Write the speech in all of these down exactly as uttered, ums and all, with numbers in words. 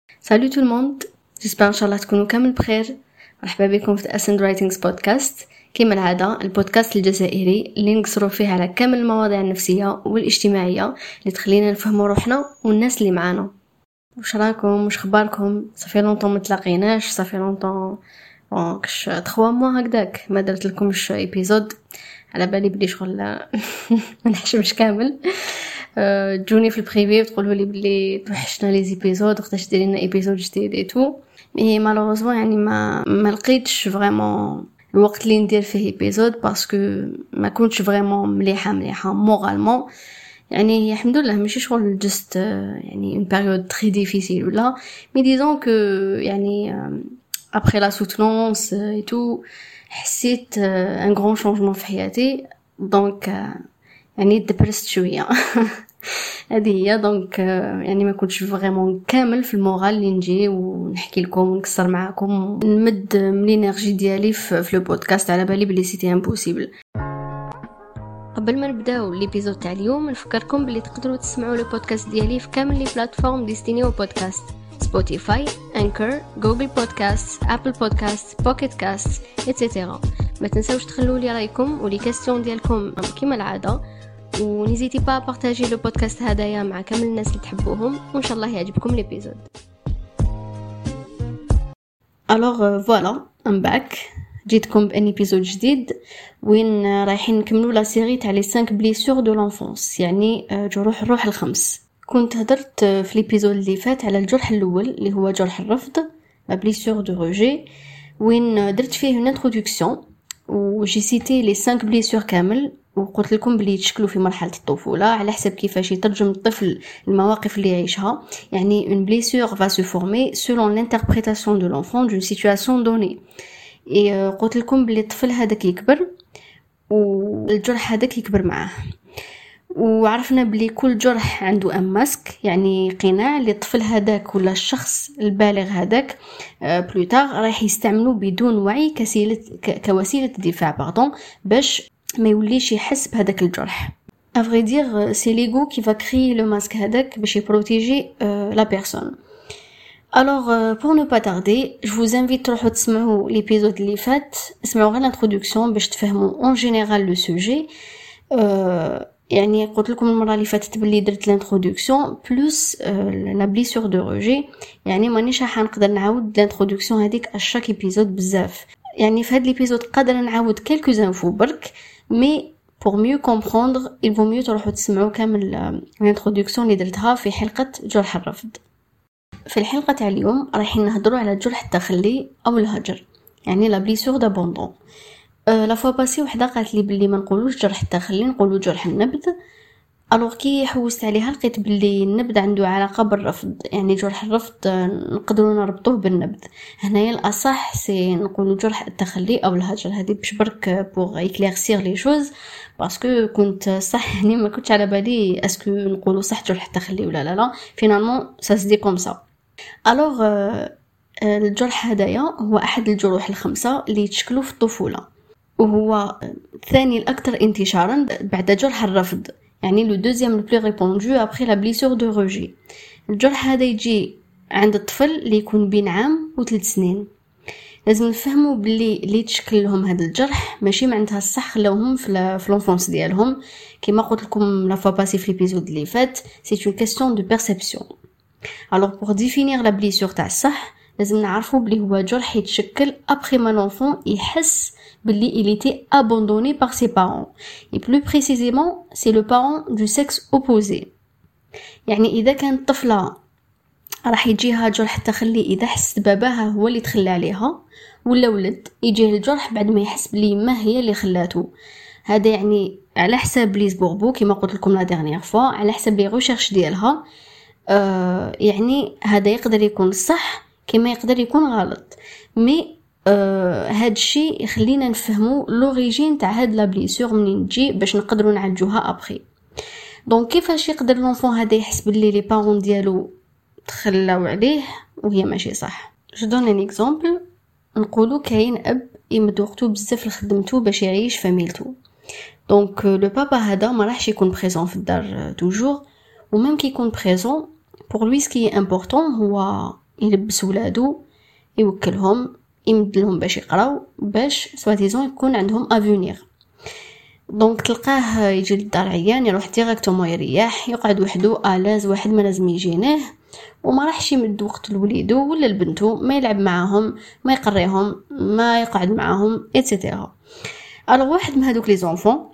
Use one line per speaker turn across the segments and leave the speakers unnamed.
Salut tout le monde, j'espère inchallah تكونوا كامل بخير. مرحبا بكم في Ascend Writings Podcast. كما العادة البودكاست الجزائري اللي نقصروا فيه على كامل المواضيع النفسية والاجتماعية اللي تخلينا نفهموا روحنا والناس اللي معانا. وش راكم؟ وش خباركم؟ صافي لونطون متلاقيناش، صافي لونطون كش تخوا موا هكذاك ما درت لكمش ايبيزود، على بالي بلي شغل ما نحشمش كامل. جوني في البريفي وتقولوا لي بلي توحشنا لي زيبيزود وقتاش ديري لنا ايبيزود جديد ايتو، مي مالوروزمون يعني ما ما لقيتش فريمون الوقت اللي ندير فيه ايبيزود باسكو ما كنتش فريمون مليحه مليحه مورالمون. يعني الحمد لله ماشي شغل جست يعني une période très difficile ولا مي ديزون كو يعني après la soutenance et tout حسيت un grand changement في حياتي، دونك يعني دبرست شويه. هذه هي دونك يعني ما كنتش فريمون كامل في المورال اللي نجي ونحكي لكم ونكسر معكم نمد من الانرجي ديالي في لو بودكاست، على بالي بلي سيتي امبوسيبل. قبل ما نبداو ليبيزود تاع اليوم نفكركم بلي تقدروا تسمعوا لو بودكاست ديالي في كامل لي بلاتفورم ديستينيو بودكاست: سبوتيفاي، انكر، جوجل بودكاست، ابل بودكاست، بوكيت كاست ايتترا. ما تنساوش تخلوا لي رايكم ولي كاستيون ديالكم كما العاده، ونزيتي با بارطاجي لو بودكاست هدايا مع كامل الناس اللي تحبوهم، وان شاء الله يعجبكم ليبيزود. الوغ فوالا ام باك، جيتكم بان ايبيزود جديد وين رايحين نكملوا لا سيري تاع لي خمسة بليسور دو لونفونس، يعني جروح الروح الخمس. كنت هدرت في ليبيزود اللي فات على الجرح الاول اللي هو جرح الرفض، لا بليسور دو روجي، وين درت فيه une introduction وجي سيتي لي خمسة بليسور كامل، وقلت لكم بلي يتشكلوا في مرحله الطفوله على حسب كيفاش يترجم الطفل المواقف اللي يعيشها. يعني une blessure va se former selon l'interprétation de l'enfant d'une situation donnée. et قلت لكم بلي الطفل هذاك يكبر والجرح هذاك يكبر معاه، وعرفنا بلي كل جرح عنده ام ماسك، يعني قناع اللي الطفل هذاك ولا الشخص البالغ هذاك بلوتار راح يستعمله بدون وعي كسيله كوسيله دفاع باردون باش ما يوليش يحس بهذاك الجرح. à vrai dire c'est l'ego qui va créer le masque هذاك باش يبروتيجي la personne. alors pour ne pas tarder je vous invite تروحوا تسمعوا ليبيزود اللي فات، اسمعوا غير الانترودكسيون باش تفهموا en général le sujet. يعني قلت لكم المره اللي فاتت بلي درت الانترودكسيون بلس لا بليسور دو روجي، يعني مانيش راح نقدر نعاود الانترودكسيون هذيك اشاك ايبيزود بزاف. يعني في هذا الابيزود قادر نعاود quelques infos برك، mais pour mieux comprendre il vaut mieux تروحوا تسمعوا كامل الانترودكسيون اللي درتها في حلقه جرح الرفض. في الحلقه تاع اليوم رايحين نهضروا على الجرح التخلي او الهجر، يعني لا بليسور دابوندون. لا فوا باسي وحده قالت لي بلي ما نقولوش جرح التخلي، نقولوا جرح النبذ. الوغ كي حوست عليها لقيت بلي النبذ عنده علاقه بالرفض، يعني جرح الرفض نقدروا نربطوه بالنبذ. هنايا الاصح سي نقولوا جرح التخلي او الهجر. هذه باش برك بوغ ايكليرسير لي شوز باسكو كنت صح يعني ما كنتش على بالي اسكو نقولوا صح جرح التخلي ولا لا لا فينالمون سا سدي كوم سا. الوغ الجرح هذايا هو احد الجروح الخمسه اللي يتشكلوا في الطفوله، وهو الثاني الاكثر انتشارا بعد جرح الرفض، يعني لو دوزيام لو بلو ريبوندو ابري لا بليسور دو روجي. الجرح هذا يجي عند الطفل اللي يكون بين عام وثلاث سنين. لازم نفهموا بلي اللي تشكل لهم هذا الجرح ماشي معناتها الصح خلاوهم في في لونفونس ديالهم، كما قلت لكم لا فوا باسي في ليبيزود اللي فات سي اون كيسيون دو بيرسيبسيون. الوغ بور ديفينير لا بليسور تاع الصح لازم نعرفوا بلي هو جرح يتشكل ابري ما لونفون يحس بلي il était abandonné par ses parents, et plus précisément c'est le parent du sexe opposé. يعني اذا كانت طفله راح يجيها جرح التخلي اذا حس باباها هو اللي تخلى عليها، ولا ولد يجيه الجرح بعد ما يحس بلي ما هي اللي خلاته. هذا يعني على حساب ليز بوربو كما قلت لكم لا ديرنيير فوا، على حساب لي ريشيرش ديالها. آه يعني هذا يقدر يكون صح كما يقدر يكون غلط، مي آه هاد الشيء يخلينا نفهموا لوريجين تاع هاد لا بليسور منين تجي باش نقدروا نعالجوها ابري. دونك كيفاش يقدر لونفون هذا يحس باللي لي بارون ديالو تخلاو عليه وهي ماشي صح؟ جو دون ان اكزامبل. نقولوا كاين اب يمد وقتو بزاف لخدمتو باش يعيش فاميلتو، دونك لو بابا هذا ما راحش يكون بريزون في الدار توجور، وميم كي يكون بريزون pour lui ce qui est important هو يلبس ولادو، يوكلهم، يمد لهم باش يقراو، باش سواتيزون يكون عندهم افونير. دونك تلقاه يجي للدار عيان، يروح ديريكتومون يريح، يقعد وحده الاز، واحد ما لازم يجينيه، وما راحش يمد وقت لوليدو ولا لبنتو، ما يلعب معاهم، ما يقريهم، ما يقعد معاهم ايتترا. الوغ واحد من هذوك لي زونفون،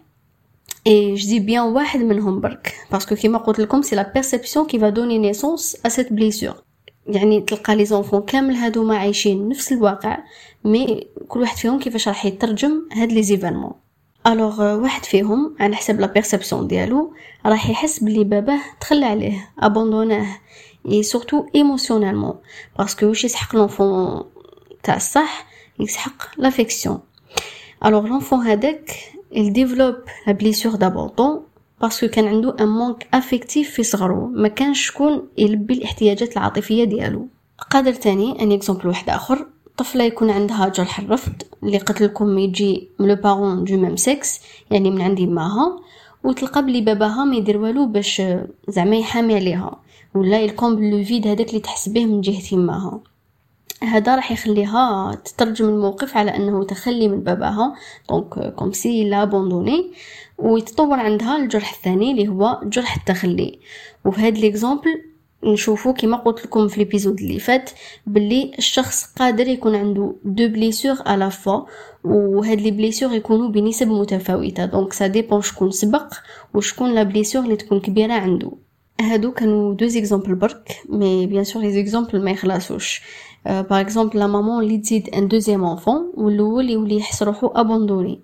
اي جو دي بيان واحد منهم برك باسكو كيما قلت لكم سي لا بيرسيبسيون كي فا دوني نيسونس ا سيت بليسور. يعني تلقى لي زونفون كامل هادو ما عايشين نفس الواقع، مي كل واحد فيهم كيفاش راح يترجم هاد لي زيفينمون. الوغ واحد فيهم على حسب لا بيرسيبسيون ديالو راح يحس بلي باباه تخلى عليه، ابوندوناه، اي سورتو ايموشنالمون، باسكو واش يسحق لونفون تاع الصح، يسحق لافيكسيون. الوغ لونفون هذاك il développe la blessure d'abandon باسكو كان عنده ان مونك افيكتيف في صغره، ما كانش شكون يلبي الاحتياجات العاطفيه ديالو. قادر تاني ان اكزامبل واحد اخر، طفله يكون عندها جرح الرفض اللي قلت لكم يجي من لو بارون دو ميم سيكس، يعني من عندي ماها، وتلقى بلي باباها ما يدير والو باش زعما يحامي عليها، ولا يكومبل لو فيد هذاك اللي تحس به من جهه ماها. هذا راح يخليها تترجم الموقف على انه تخلي من باباها، دونك كوم سي لا ابوندوني، ويتطور عندها الجرح الثاني اللي هو جرح التخلي. وفي هذا ليكزامبل نشوفوا كما قلت لكم في الابيزود اللي فات باللي الشخص قادر يكون عنده دو بليسور على فوا، وهاد لي بليسور يكونوا بنسب متفاوته، دونك سا ديبون شكون سبق وشكون لا بليسور اللي تكون كبيره عنده. هادو كانوا دو زيكزامبل برك، مي بيان سور لي زيكزامبل ما يخلصوش. باغ اكزومبل لا مامون اللي تزيد ان دوزيام انفون والاول يولي يحس روحو ابوندوني،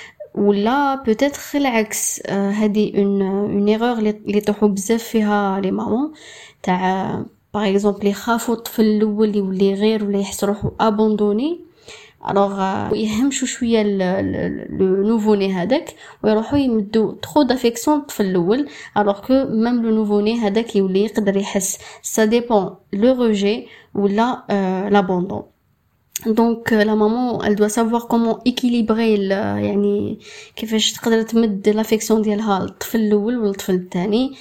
ولا بوتيتر العكس، هذه اون اون ايرور اللي يطيحوا بزاف فيها لي مامون تاع باغ اكزومبل يخافوا الطفل الاول يولي غير ولا يحس روحو ابوندوني، الوغ يهمشوا شويه لو نوفو ني هذاك ويروحوا يمدوا ترو دافيكسيون الطفل الاول، الوغ كو ميم لو نوفو ني هذاك يولي يقدر يحس سا ديبون لو ريجي ولا لابوندون. دونك لا مامون elle doit savoir comment équilibrer يعني كيفاش تقدر تمد لافيكسيون ديالها للطفل الاول والطفل الثاني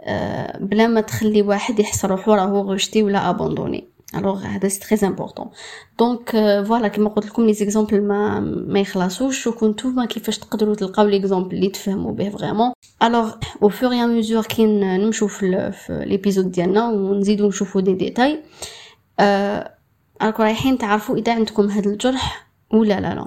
بلا ما تخلي واحد يحس روحو راهو ريجتي ولا ابوندوني. الوغ هذا سي تري امبورطون. دونك فوالا كما قلت لكم لي زيكزامبل ما ما يخلصوش، وكنتو كيفاش تقدروا تلقاو ليكزامبل اللي تفهموا به فريمون. الوغ او فور اي ميزور كي نمشوا في ليبيزود ديالنا ونزيدوا نشوفوا دي ديتاي، ا راكم رايحين تعرفوا اذا عندكم هذا الجرح ولا لا لا.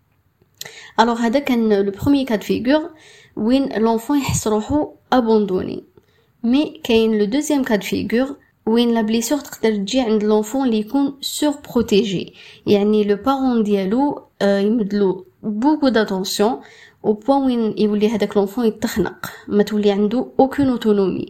الوغ هذا كان لو بروميير كاد فيغور وين لونفون يحس روحو ابوندوني، مي كاين لو دوزيام كاد فيغور وين لا بليسور تقدر تجي عند لونفون اللي يكون سور بروتيجي، يعني لو بارون ديالو يمدلو بوكو داتونسيون او بوين وين يولي هذاك لونفون يتخنق، ما تولي عنده اوكون اوتونومي.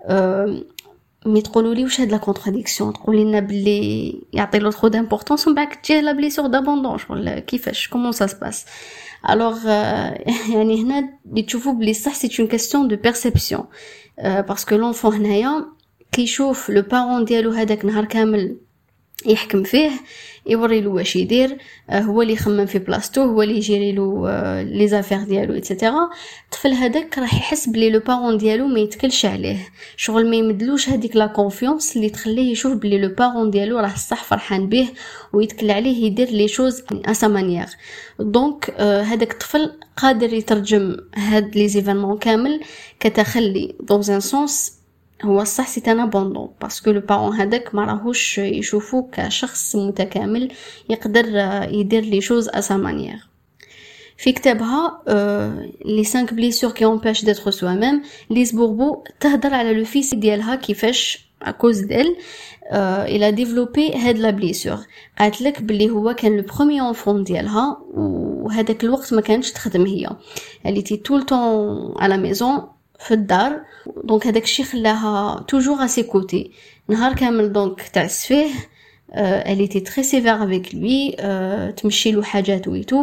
مي تقولوا لي واش هاد لا كونتراديكسيون، تقولي لنا بلي يعطي له ترو دامبورطونس ومن بعد تجي لا بليسور دابوندون ولا كيفاش كومون سا سباس. الوغ يعني هنا اللي تشوفوا بلي صح سي اون كاستيون دو بيرسيبسيون، باسكو لونفون هنايا كيشوف لو بارون ديالو هذاك نهار كامل يحكم فيه، يوري له واش يدير، هو اللي يخمم في بلاصتو، هو اللي يجيري له لي زافير ديالو ايتترا. الطفل هذاك راح يحس بلي لو بارون ديالو ما يتكلش عليه، شغل ما يمدلوش هذيك لا كونفيونس اللي تخليه يشوف بلي لو بارون ديالو راه صح فرحان به ويتكل عليه يدير لي شوز ا سا مانيير. دونك هذاك الطفل قادر يترجم هاد لي زيفينمون كامل كتخلي دون ان سونس هو الصح سي ان ابوندون، باسكو لو بارون هذاك ما راهوش يشوفوه كشخص متكامل يقدر يدير لي شوز ا سا مانيير. في كتابها لي خمسة بليسور كي امبيش ديتر سوا ميم، ليز بوربو تهضر على لو فيس ديالها كيفاش اكوز ديل الى ديفلوبي هاد لا بليسور. قالت لك بلي هو كان لو بروميير اونفون ديالها، وهذاك الوقت ما كانتش تخدم، هي اللي تي طول طون على ميزون في الدار، دونك هذاك الشيء خلاها توجور اسي كوتي نهار كامل، دونك تعس فيه، elle était très sévère avec lui، تمشي له حاجات ويتو،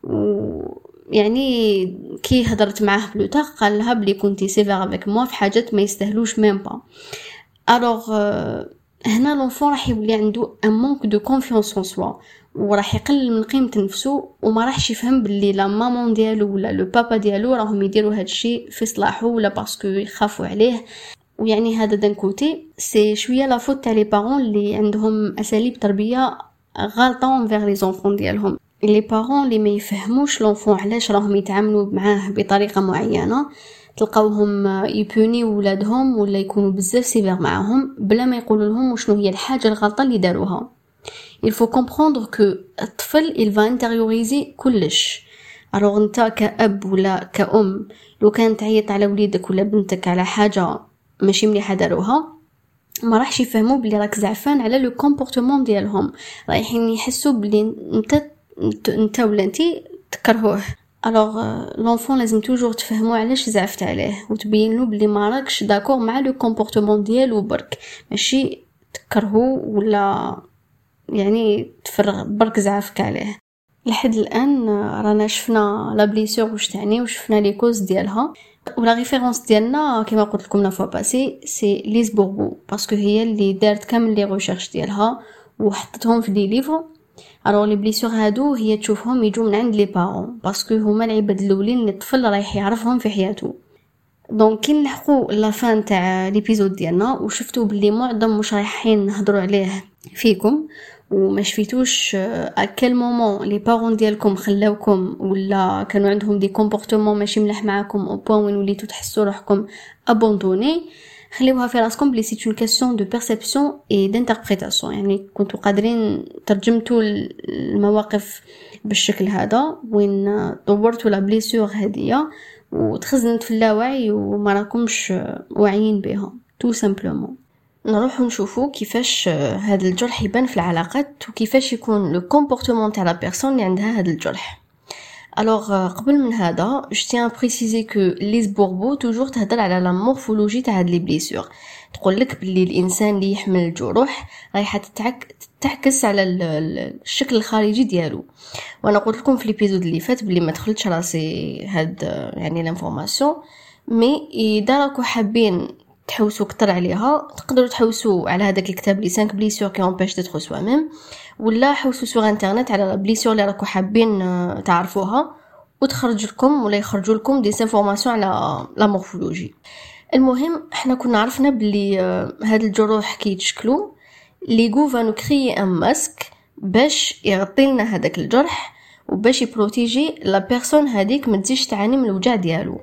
يعني كي هضرت معاه بلوتار قال لها بلي كنتي سيفير افيك موا في حاجات ما يستاهلوش ميم با. الوغ هنا لونفون راح يولي عنده ان مونك دو كونفيونس اون سوا، وراح يقلل من قيمه نفسه، وما راحش يفهم باللي لا مامون ديالو ولا لو بابا ديالو راهم يديروا هذا الشيء في صلاحه ولا باسكو يخافوا عليه. ويعني هذا دان كوتي سي شويه لا فوت تاع لي بارون اللي عندهم اساليب تربيه غالطه انفير لي زونفون ديالهم. لي بارون اللي ما يفهموش لونفون علاش راهم يتعاملوا معاه بطريقه معينه تلقاوهم يبوني ولادهم ولا يكونوا بزاف سيفير معاهم بلا ما يقولوا لهم وشنو هي الحاجه الغلطه اللي داروها. il faut comprendre que الطفل il va intérioriser كلش. alors انت كأب ولا كأم لو كان تعيط على وليدك ولا بنتك على حاجه ماشي مليحه داروها ما راحش يفهموا بلي راك زعفان على لو كومبورتمون ديالهم، رايحين يحسوا بلي انت انت ولا انتي تكرهوه. الوغ لونفون لازم توجور تفهموا علاش زعفت عليه وتبين له بلي ما راكش داكور مع لو كومبورتمون ديالو برك، ماشي تكرهو ولا يعني تفرغ برك زعفك عليه. لحد الان رانا شفنا لا بليسور واش تعني وشفنا لي كوز ديالها، ولا ريفيرونس ديالنا كما قلت لكم لا فوا باسي سي ليز بوربو باسكو هي اللي دارت كامل لي ريشيرش ديالها وحطتهم في دي ليفر. الوغ لي بليسور هادو هي تشوفهم يجوا من عند لي بارون باسكو هما العباد الاولين اللي الطفل رايح يعرفهم في حياته. دونك كي نلحقوا لا فان تاع ليبيزود ديالنا وشفتوا بلي معظم مش رايحين نهضروا عليه فيكم وما شفيتوش اكل مومون لي بارون ديالكم خلاوكم ولا كانوا عندهم دي كومبورتمون ماشي مليح معاكم او بوين وين وليتوا تحسوا روحكم ابوندوني، خليوها في راسكم بلي سي اون كاستيون دو بيرسيبسيون اي دانتربريتاسيون. يعني كنتوا قادرين ترجمتوا المواقف بالشكل هذا وين طورتوا لا بليسور هذيا وتخزنت في اللاوعي وما راكمش واعيين بها تو سامبلومون. نروح نشوفوا كيفاش هذا الجرح يبان في العلاقات وكيفاش يكون لو كومبورتمون تاع لا بيرسون اللي عندها هذا الجرح. الوغ قبل من هذا جو تيان بريسيزي كو ليز بوربو توجور تهضر على لا مورفولوجي تاع هاد لي بليسور، تقول لك بلي الانسان اللي يحمل الجروح رايحه تتعك تتعكس على الشكل الخارجي ديالو. وانا قلت لكم في ليبيزود اللي فات بلي ما دخلتش راسي هاد يعني لانفورماسيون، مي اذا راكو حابين تحوسوا كتر عليها تقدروا تحوسوا على هذاك الكتاب لي خمسة بليسور كي امبيش ديتر سوا ميم، ولا حوسوا سور انترنت على بليسور اللي راكو حابين تعرفوها وتخرج لكم ولا يخرجوا لكم دي انفورماسيون على لا مورفولوجي. المهم احنا كنا عرفنا بلي هاد الجروح كي يتشكلوا ليغو فانو كريي ان ماسك باش يغطي لنا هذاك الجرح وباش يبروتيجي لا بيرسون هذيك ما تزيدش تعاني من الوجع ديالو.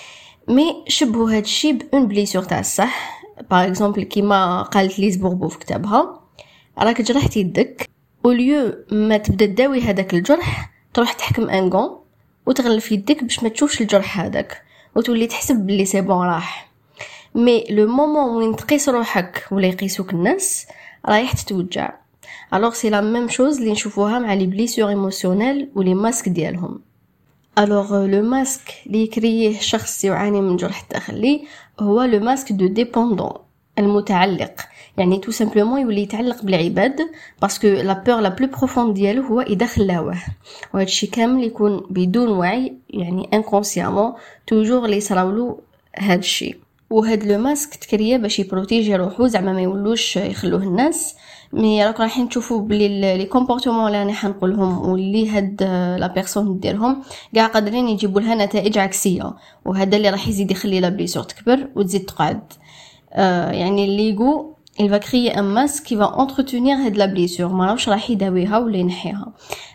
مي شبهوا هاد الشيء بون بليسور تاع الصح. باغ اكزومبل كيما قالت ليز بوربو في كتابها، راك جرحتي يدك اوليو ما تبدا تداوي هذاك الجرح تروح تحكم ان غون وتغلف يدك باش ما تشوفش الجرح هذاك وتولي تحسب بلي سي بون راح. مي لو مومون وين تقيس روحك ولا يقيسوك الناس رايح تتوجع. الوغ سي لا ميم شوز اللي نشوفوها مع لي بليسور ايموسيونيل ولي ماسك ديالهم. الوغ لو ماسك اللي يكريه شخص يعاني من جرح داخلي هو لو ماسك دو ديبوندون المتعلق، يعني تو سامبلومون يولي يتعلق بالعباد باسكو لا بور لا بلو بروفوند ديالو هو اذا خلاوه، وهذا الشيء كامل يكون بدون وعي يعني انكونسيامون توجور لي صراولو هذا الشيء. وهاد لو ماسك تكريه باش يبروتيجي روحو زعما ما يولوش يخلوه الناس. مي راك رايحين تشوفوا بلي لي كومبورتمون اللي انا حنقولهم واللي هاد لا بيرسون ديرهم كاع قادرين يجيبوا لها نتائج عكسيه، وهذا اللي راح يزيد يخلي لا بليسور تكبر وتزيد تقعد. آه يعني الليغو il va créer un masque qui va entretenir هاد لا بليسور، ما راهش راح يداويها ولا ينحيها.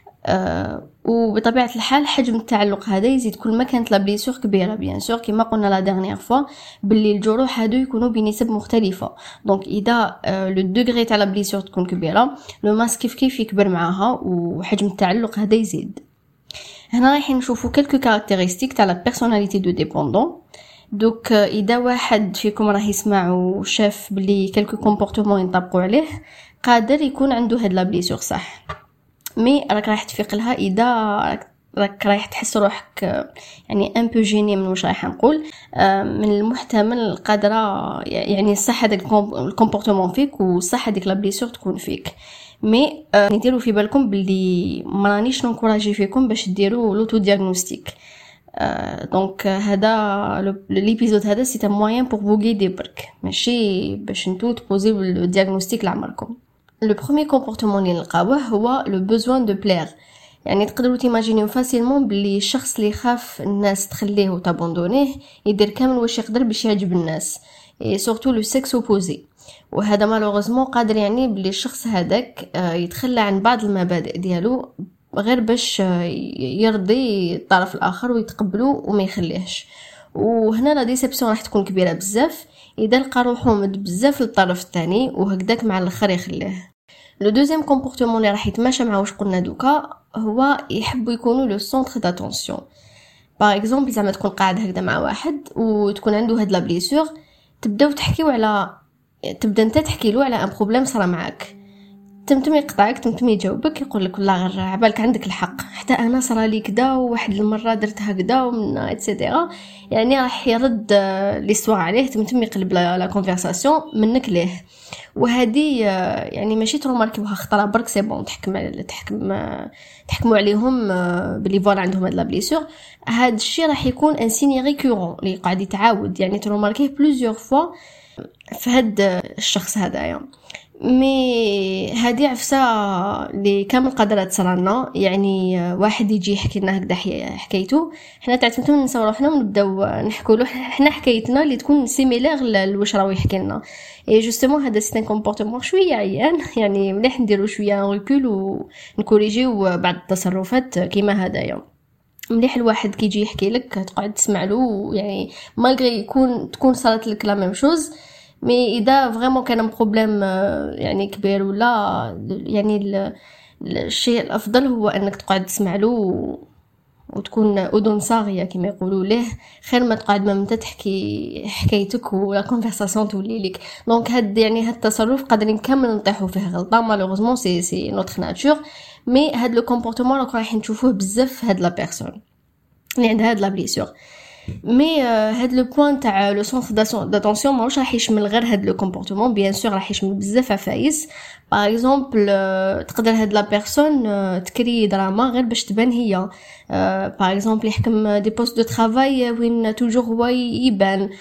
آه وبطبيعه الحال حجم التعلق هذا يزيد كل ما كانت لا بليسور كبيره بيان سور كما قلنا لا ديرنيير فوا باللي الجروح هادو يكونوا بنسب مختلفه. دونك اذا آه لو دوغري تاع لا بليسور تكون كبيره لو ماسك كيف كيف يكبر معاها وحجم التعلق هذا يزيد. هنا رايحين نشوفوا كلكو كاركتيرستيك تاع لا بيرسوناليتي دو ديبوندون. دوك اذا واحد فيكم راه يسمع وشاف بلي كلكو كومبورتمون ينطبقوا عليه قادر يكون عنده هاد لا بليسور صح. مي راك رايح تفيق لها اذا راك رايح تحس روحك يعني ان بو جيني من واش رايح نقول، من المحتمل قادره يعني صح هذاك الكومبورتمون فيك وصح هذيك لا بليسور تكون فيك. مي نديروا في بالكم بلي ما رانيش نكوراجي فيكم باش ديروا لوتو دياغنوستيك. دونك هذا ليبيزود هذا سي ان موين بور فو غيدي برك ماشي باش نتو تبوزيو لو دياغنوستيك لعمركم. لو بروميير كومبورتمون اللي نلقاوه هو لو بوزوان دو بلير. يعني تقدروا تيماجينيو فاسيلمون بلي الشخص اللي خاف الناس تخليه وتابوندونيه يدير كامل واش يقدر باش يعجب الناس. اي سورتو لو سيكس اوبوزي. وهذا مالوغوزمون قادر يعني بلي الشخص هذاك يتخلى عن بعض المبادئ ديالو غير باش يرضي الطرف الاخر ويتقبلو وما يخليهش. وهنا لا ديسيبسيون راح تكون كبيره بزاف اذا لقى روحو مد بزاف للطرف الثاني وهكذاك مع الاخر يخليه. لو دوزيام كومبورتمون اللي راح يتماشى مع واش قلنا دوكا هو يحبوا يكونوا لو سونتر داتونسيون. باغ اكزومبل زعما تكون قاعد هكذا مع واحد وتكون عنده هاد لا بليسور، تبداو تحكيو على تبدا انت تحكي له على ان بروبليم صرا معاك، تمتم يقطعك تمتم يجاوبك يقول لك والله غير عبالك عندك الحق، حتى انا صرا لي كذا وواحد المره درت هكذا ومن ايتترا. يعني راح يرد ليستوار عليه، تمتم يقلب لا كونفرساسيون منك ليه. وهذه يعني ماشي تروماركيوها خطره برك سي بون تحكم تحكم تحكموا عليهم بلي فوالا عندهم هاد لا بليسور. هذا الشيء راح يكون ان سيني ريكورون اللي قاعد يتعاود، يعني تروماركيه بلوزيور فوا في هاد الشخص هذايا. مي هذه عفسه اللي كامل قادره تصرالنا، يعني واحد يجي يحكي لنا هكذا حكايته، حنا تعتمدوا نساو روحنا ونبداو نحكوا له حنا حكايتنا اللي تكون سيميلير لواش راهو يحكي لنا. اي جوستومون هذا سيت ان كومبورتمون شويه عيان، يعني مليح نديرو شويه ريكول ونكوريجيو بعض التصرفات كيما هدايا. مليح الواحد كيجي يحكي لك تقعد تسمع له، يعني مالغري يكون تكون صارت لك لا ميم شوز، مي اذا فريمون كان بروبليم يعني كبير ولا يعني الشيء الافضل هو انك تقعد تسمع له وتكون اذن صاغيه كما يقولوا ليه، خير ما تقعد ما انت تحكي حكايتك ولا كونفرساسيون تولي لك. دونك هاد يعني هاد التصرف قادرين كامل نطيحوا فيه غلطه، مالوغوزمون سي سي نوتر ناتور. مي هاد لو كومبورتمون راك راح نشوفوه بزاف هاد لا بيرسون اللي عندها هاد لا بليسور. مي هاد لو بوين تاع لو سونتر داتونسيون ماهوش راح يشمل غير هاد لو كومبورتمون، بيان سور راح يشمل بزاف عفايس. باغ اكزومبل تقدر هاد لا بيرسون تكري دراما غير باش تبان هي، باغ اكزومبل يحكم دي بوست دو ترافاي وين توجور هو يبان،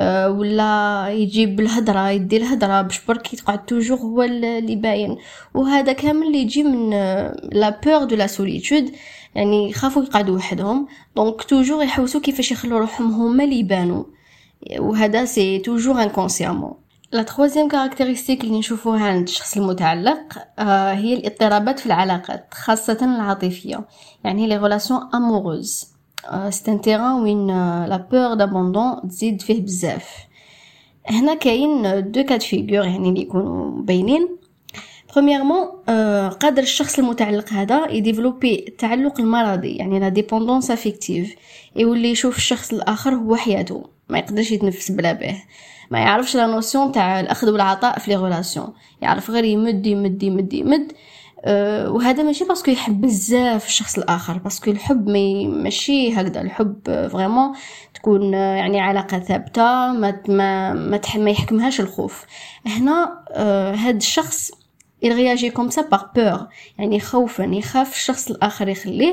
ولا يجيب الهضره يدي الهضره باش برك يقعد توجور هو اللي باين. وهذا كامل اللي يجي من لا بور دو لا سوليتود، يعني يخافوا يقعدوا وحدهم، دونك توجور يحوسوا كيفاش يخلوا روحهم هما اللي يبانوا، وهذا سي توجور انكونسيامون. لا ترويزيام كاركتيرستيك اللي نشوفوها عند الشخص المتعلق آه هي الاضطرابات في العلاقات خاصة العاطفية، يعني لي ريلاسيون اموروز. آه سي ان تيران وين آه لا بور دابوندون تزيد فيه بزاف. هنا كاين دو كاد فيغور يعني اللي يكونوا باينين. premièrement آه قادر الشخص المتعلق هذا يديفلوبي التعلق المرضي، يعني لا ديبوندونس افيكتيف، يولي يشوف الشخص الاخر هو حياته، ما يقدرش يتنفس بلا به، ما يعرفش لا نوسيون تاع الاخذ والعطاء في لي ريلاسيون، يعرف غير يمد يمد يمد يمد. أه وهذا ماشي باسكو يحب بزاف الشخص الاخر، باسكو الحب ماشي هكذا. الحب فريمون تكون يعني علاقه ثابته ما ما ما, ما يحكمهاش الخوف. هنا أه هذا الشخص il réagit comme ça par peur، يعني خوفا يخاف الشخص الاخر يخليه،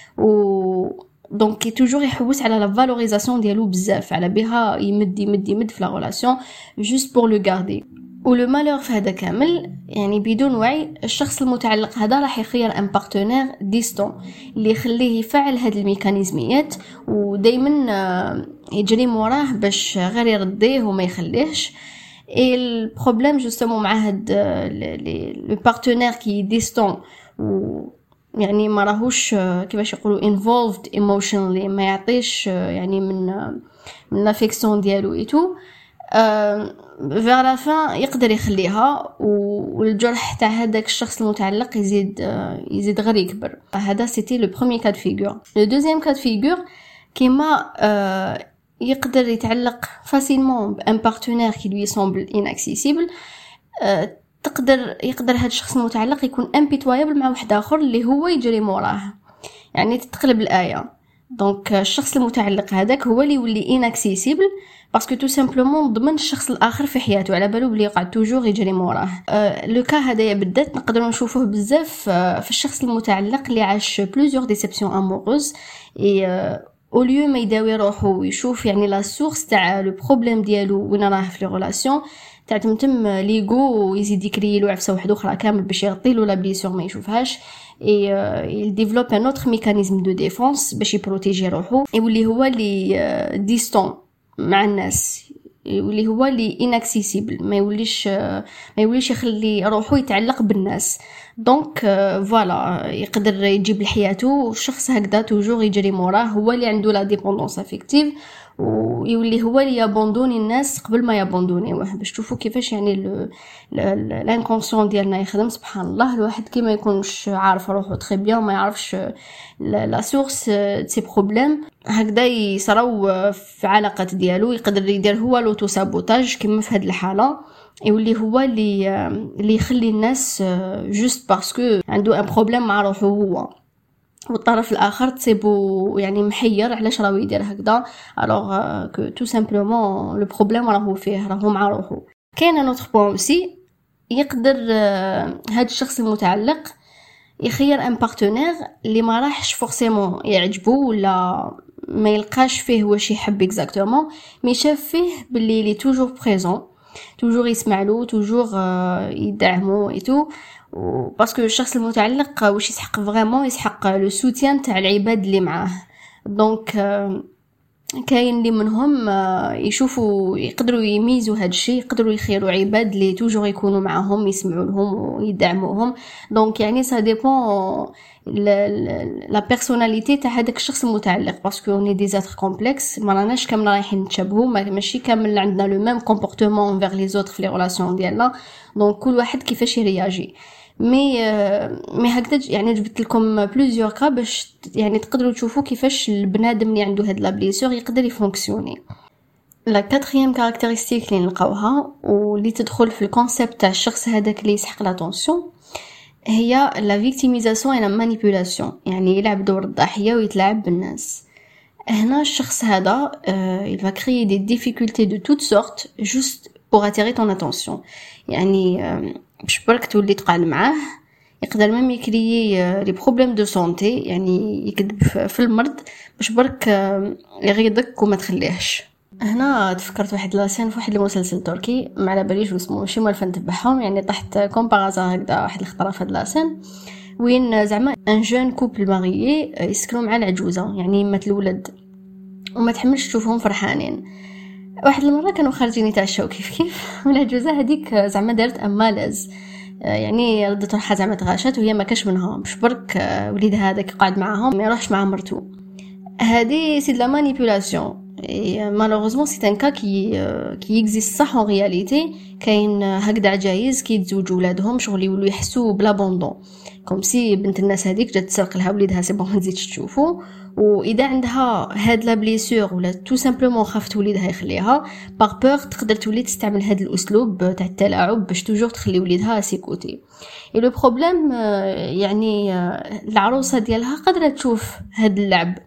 و دونك كي توجور يحوس على لا فالوريزاسيون ديالو بزاف، على بها يمد يمد يمد في لا ريلاسيون جوست بور لو غاردي. ولو مالور في هذا كامل يعني بدون وعي الشخص المتعلق هذا راح يخير ان بارتنير ديستون اللي يخليه يفعل هاد الميكانيزميات ودائما يجري موراه باش غير يرضيه وما يخليهش. اي البروبليم جوستومون مع هاد لو بارتنير كي ديستون و يعني ما راهوش كيفاش يقولوا involved emotionally، ما يعطيش يعني من من لافيكسيون ديالو ايتو، فيغ لا فان يقدر يخليها، والجرح تاع هذاك الشخص المتعلق يزيد يزيد غير يكبر. هذا سيتي لو بروميير كاد فيغور. لو دوزيام كاد فيغور كيما يقدر يتعلق فاسيلمون بان بارتنير كي لوي سومبل inaccessible، تقدر يقدر هذا الشخص المتعلق يكون امبيتوايبل مع واحد اخر اللي هو يجري موراه، يعني تتقلب الايه. دونك الشخص المتعلق هذاك هو اللي يولي اناكسيسيبل باسكو تو سامبلومون ضمن الشخص الاخر في حياته، على بالو بلي يقعد توجور يجري موراه. أه لو كا هذايا بالذات نقدروا نشوفوه بزاف أه في الشخص المتعلق اللي عاش بلوزيور ديسيبسيون اموروز، اي أه او ليو ما يداوي روحو ويشوف يعني لا سورس تاع لو بروبليم ديالو وين راه في لي ريلاسيون، تاع تمتم ليغو ويزيد يكري له عفسه واحده اخرى كامل باش يغطي له لا بليسور ما يشوفهاش. اي il développe un autre mécanisme de défense باش يبروتيجي روحو، يولي هو اللي ديستون مع الناس، اللي هو لي inaccessible، ما يوليش ما يوليش يخلي روحه يتعلق بالناس. دونك فوالا يقدر يجيب لحياته شخص هكذا توجور يجري موراه، هو اللي عنده لا ديبوندونس افيكتيف، ويولي هو اللي يابوندوني الناس قبل ما يابوندونيوه. باش تشوفوا كيفاش يعني الانكونسيون ديالنا يخدم. سبحان الله، الواحد كي ما يكونش عارف روحه تري بيان، ما يعرفش لا سورس سي بروبليم، هكذا يصراو في علاقات ديالو، يقدر يدير هو لوتو سابوتاج كيما في هذه الحاله، يولي هو اللي اللي يخلي الناس جوست باسكو عنده ان بروبليم مع روحه هو، والطرف الاخر تصيبو يعني محير علاش راهو يدير هكذا، الوغ كو تو سامبلومون لو بروبليم راهو فيه، راهو مع روحه. كاين ان اوتر بوين اوسي، يقدر هذا الشخص المتعلق يخير ان بارتنير اللي ما راحش فورسيمون يعجبو ولا ما يلقاش فيه واش يحب اكزاكتومون، مي شاف فيه باللي لي توجور بريزون، توجور يسمع له، توجور يدعمو ايتو، باسكو الشخص المتعلق واش يسحق فريمون، يسحق لو سوتيان تاع العباد اللي معاه. دونك كاين اللي منهم يشوفوا يقدروا يميزوا هذا الشيء، يقدروا يخيروا عباد اللي توجور يكونوا معهم، يسمعوا لهم ويدعموهم. دونك يعني سا ديبون لا بيرسوناليتي تاع هذاك الشخص المتعلق، باسكو اوني دي زاتر كومبلكس، ما راناش كامل رايحين نتشابهوا، ماشي كامل عندنا لو ميم كومبورتمون فيغ لي زوتر في لي ريلاسيون ديالنا. دونك كل واحد كيفاش يرياجي. مي مي هكذا يعني جبت لكم بليزيور كا باش يعني تقدروا تشوفوا كيفاش البنادم اللي عنده هاد لا بليسور يقدر يفونكسيوني. لا كاتريام كاركتيرستيك اللي نلقاوها واللي تدخل في الكونسيبت تاع الشخص هذاك اللي يسحق لاتونسيون هي لا فيكتيميزاسيون اي لا مانيبيولاسيون، يعني يلعب دور الضحيه ويتلاعب بالناس. هنا الشخص هذا il va créer des difficultés de toutes sortes juste pour attirer ton attention. يعني باش برك تولي تقعد معاه، يقدر ميم يكريي لي بروبليم دو سونتي، يعني يكذب في المرض باش برك يغيظك وما تخليهش. هنا تفكرت واحد لاسين في واحد المسلسل تركي، ما على باليش اسمه، ماشي مالفه نتبعهم، يعني طحت كومبارازا هكذا واحد الخطره في هاد لاسين وين زعما ان جون كوبل ماريي يسكنوا مع العجوزه، يعني مات الولد وما تحملش تشوفهم فرحانين. واحد المره كانوا خارجين يتعشاو كيف كيف، والعجوزه هذيك زعما دارت امالاز، يعني ردت روحها زعما تغاشات وهي ما كاش منها، باش برك وليد هذاك قاعد معاهم ما يروحش مع مرتو. هذه سي لا مانيبيولاسيون. مالوغوزمون سي ان كا كي كي اكزيست صح اون رياليتي. كاين هكذا عجايز كيتزوجوا ولادهم شغل يولوا يحسوا بلا بوندون، كوم سي بنت الناس هذيك جات تسرق لها وليدها، سي بون ما تزيدش تشوفوا. واذا عندها هاد لا بليسور ولا تو سامبلومون خافت وليدها يخليها باغ بور، تقدر تولي تستعمل هاد الاسلوب تاع التلاعب باش توجور تخلي وليدها سيكوتي. اي لو بروبليم يعني العروسه ديالها قادره تشوف هاد اللعب،